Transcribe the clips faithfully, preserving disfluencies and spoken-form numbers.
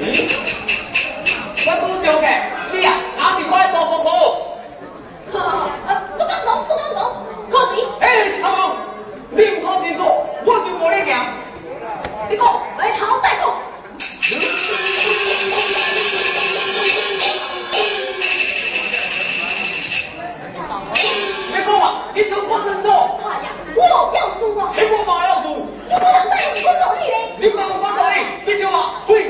我拄着嘅，你啊，哪是我的大哥哥？ 不敢讲，不敢讲，可是。 哎，阿公，你唔好清楚，我就无你行。 你讲，来头再讲。 你讲啊，你做我真错。 哎呀，我要输啊！ 你我嘛要输。 你不能再用我努力嘞！ 你讲我努力，你就话会。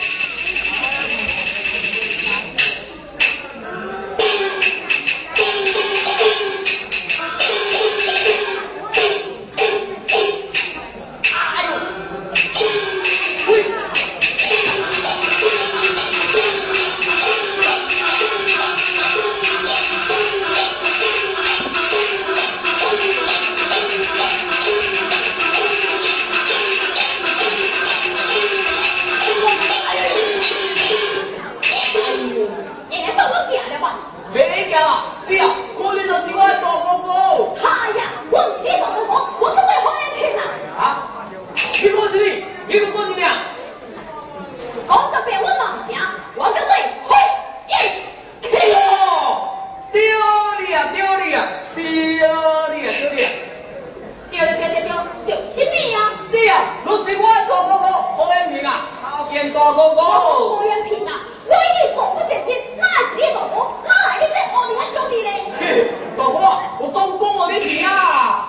你啊，我你就是我的大哥哥。 哎呀，我是你大哥哥，我是最花眼圈啦。 啊？你讲什么？你讲什么？ 讲个别我名名，我叫做灰眼。 哦，丢你啊，丢你啊，丢你啊，丢你啊！ 丢丢丢丢丢，什么啊？ 你啊，就是我的大哥哥何延平啊，后见大哥哥。 何延平啊，我已经做不成事，哪是你大哥？哪来你这恶人兄弟呢？ 嘿，大哥啊，我总讲我你听啊。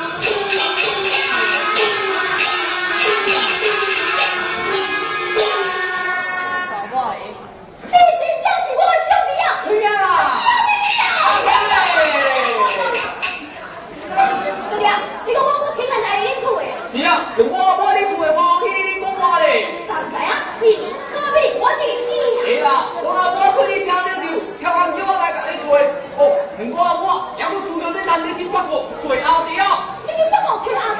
这真正是我的兄弟啊！ 对呀。 对呀，你讲我我请人来你厝的啊？ 是啊，我我你厝的我去你讲话咧。 上来啊！你隔壁我是你。 是啦，我我去你听了就跳完酒来甲你做。哦，我我也要除了这男的去帮我做后调。 你怎么去阿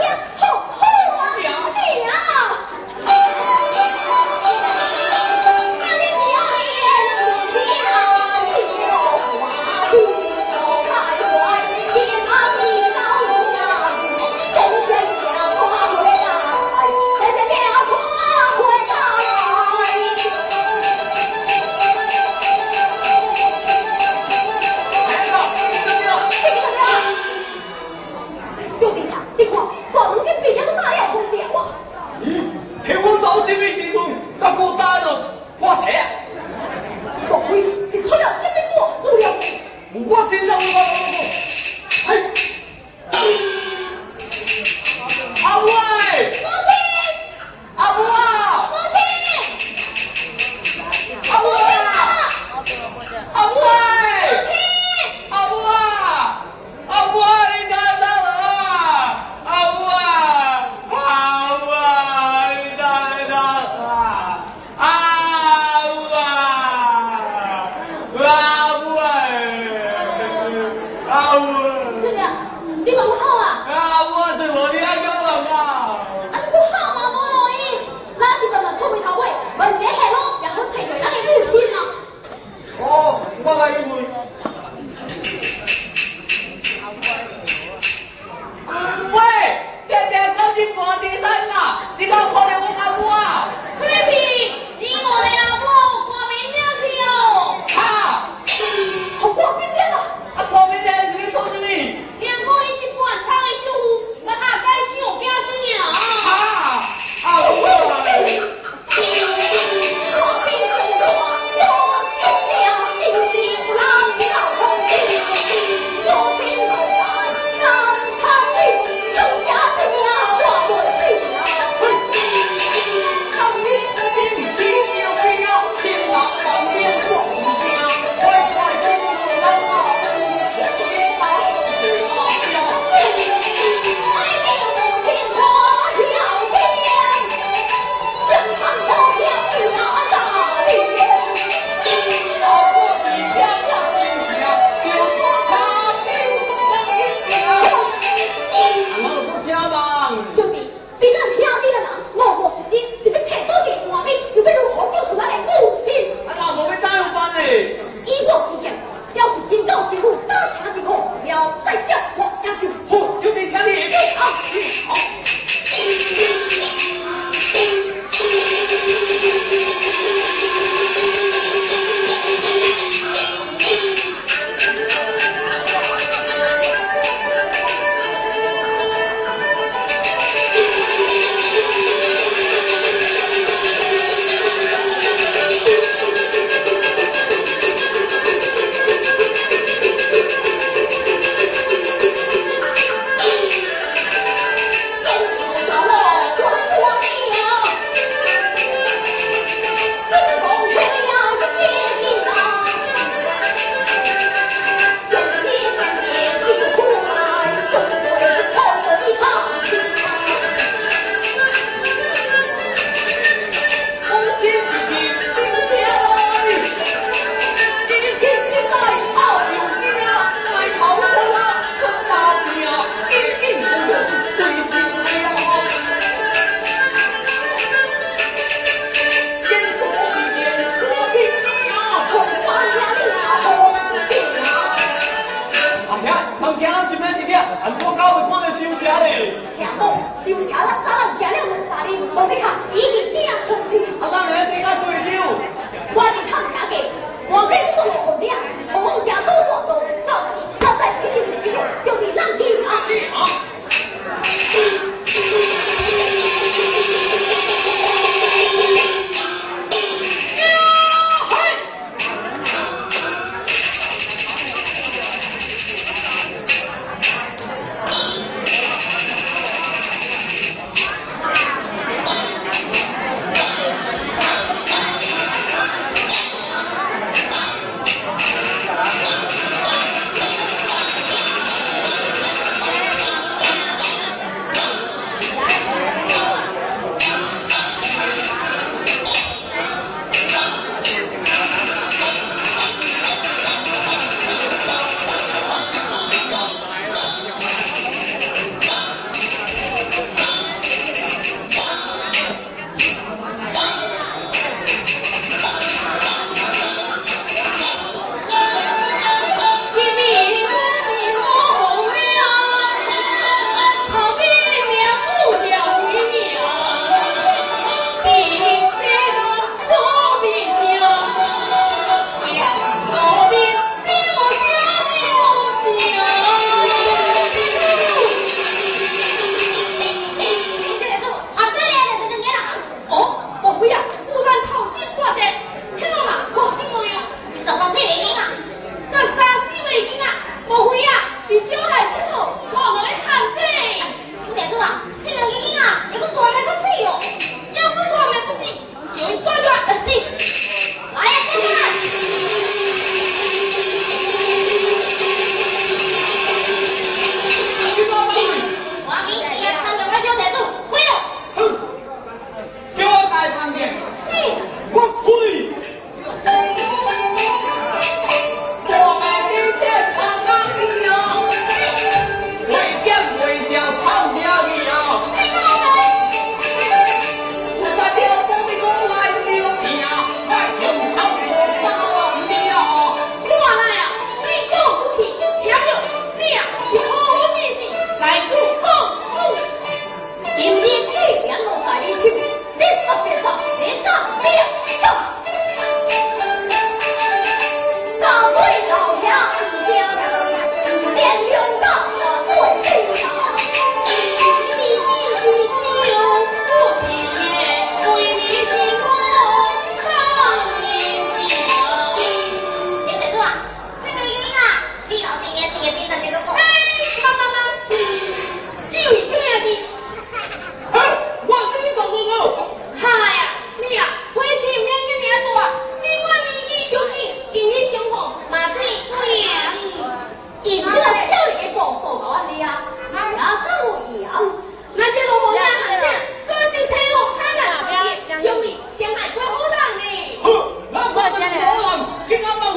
已经变成的。 啊，当然你个对了。 我是唐家的，我跟你说我俩，从家都我走，到底要在心里没有，就得让你啊。 今晚